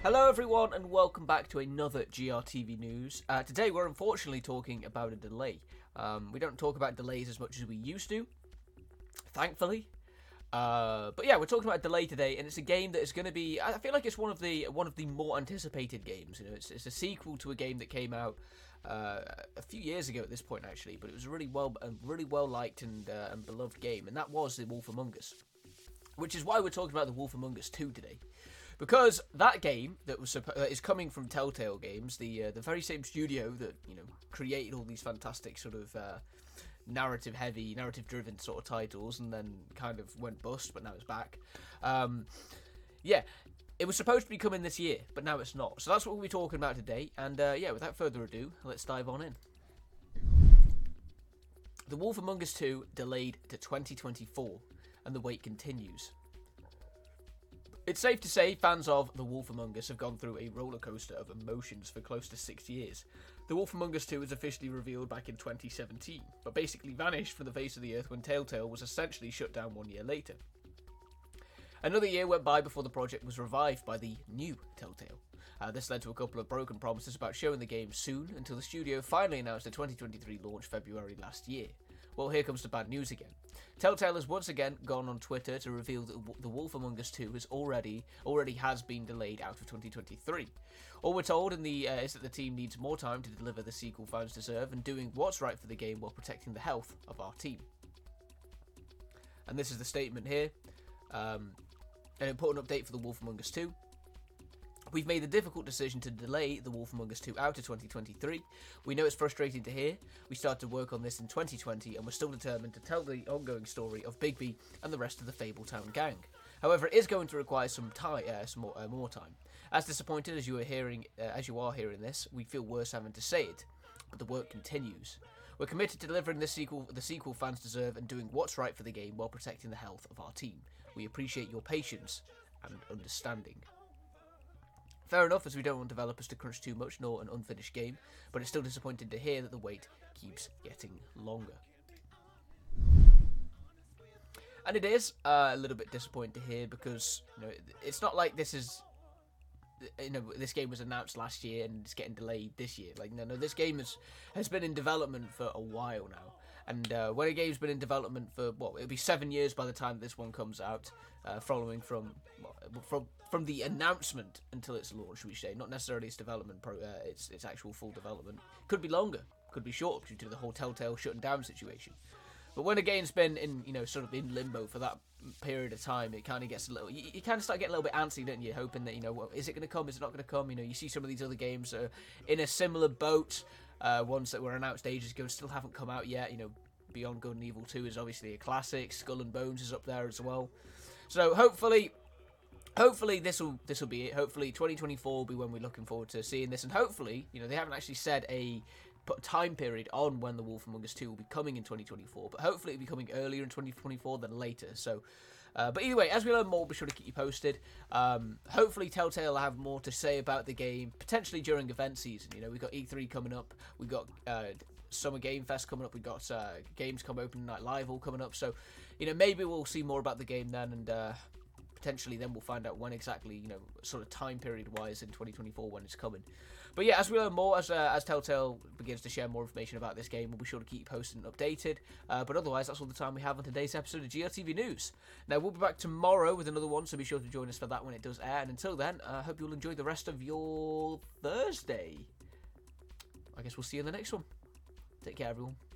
Hello everyone and welcome back to another GRTV News. Today we're unfortunately talking about a delay. We don't talk about delays as much as we used to, thankfully. But yeah, we're talking about a delay today, and it's a game that is going to be. I feel like it's one of the more anticipated games. You know, it's a sequel to a game that came out a few years ago at this point, actually. But it was a really well liked and beloved game, and that was The Wolf Among Us. Which is why we're talking about The Wolf Among Us 2 today. Because that game that is coming from Telltale Games, the very same studio that created all these fantastic sort of narrative-heavy, narrative-driven sort of titles, and then kind of went bust, but now it's back. Yeah, it was supposed to be coming this year, but now it's not. So that's what we'll be talking about today. And yeah, without further ado, let's dive on in. The Wolf Among Us 2 delayed to 2024, and the wait continues. It's safe to say fans of The Wolf Among Us have gone through a rollercoaster of emotions for close to 6 years. The Wolf Among Us 2 was officially revealed back in 2017, but basically vanished from the face of the earth when Telltale was essentially shut down 1 year later. Another year went by before the project was revived by the new Telltale. This led to a couple of broken promises about showing the game soon, until the studio finally announced a 2023 launch February last year. Well, here comes the bad news again. Telltale has once again gone on Twitter to reveal that The Wolf Among Us 2 has already has been delayed out of 2023. All we're told is that the team needs more time to deliver the sequel fans deserve and doing what's right for the game while protecting the health of our team. And this is the statement here. An important update for The Wolf Among Us 2. We've made the difficult decision to delay The Wolf Among Us 2 out to 2023. We know it's frustrating to hear. We started to work on this in 2020 and we're still determined to tell the ongoing story of Bigby and the rest of the Fabletown gang. However, it is going to require some more time. As disappointed as you are hearing this, we feel worse having to say it, but the work continues. We're committed to delivering the sequel fans deserve and doing what's right for the game while protecting the health of our team. We appreciate your patience and understanding. Fair enough, as we don't want developers to crunch too much nor an unfinished game, but it's still disappointing to hear that the wait keeps getting longer. And it is a little bit disappointing to hear because it's not like this game was announced last year and it's getting delayed this year. No, this game has been in development for a while now. And when a game's been in development for, it'll be 7 years by the time this one comes out, following from the announcement until its launch, should we say. Not necessarily its development, its actual full development. Could be longer, could be shorter due to the whole Telltale shutting down situation. But when a game's been in, sort of in limbo for that period of time, it kind of gets a little, you kind of start getting a little bit antsy, don't you? Hoping that, is it going to come, is it not going to come? You see some of these other games in a similar boat. Ones that were announced ages ago still haven't come out yet. Beyond Good and Evil 2 is obviously a classic. Skull and Bones is up there as well. So hopefully this will be it. Hopefully 2024 will be when we're looking forward to seeing this, and hopefully they haven't actually said a time period on when The Wolf Among Us 2 will be coming in 2024, but hopefully it'll be coming earlier in 2024 than later. So. But either way, as we learn more, be sure to keep you posted. Hopefully Telltale will have more to say about the game, potentially during event season. We've got E3 coming up, we've got Summer Game Fest coming up, we've got Gamescom Open Night Live all coming up, so maybe we'll see more about the game then, and potentially then we'll find out when exactly, sort of time period wise in 2024 when it's coming. But yeah, as we learn more, as Telltale begins to share more information about this game, we'll be sure to keep you posted and updated. But otherwise, that's all the time we have on today's episode of GRTV News. Now, we'll be back tomorrow with another one, so be sure to join us for that when it does air. And until then, I hope you'll enjoy the rest of your Thursday. I guess we'll see you in the next one. Take care, everyone.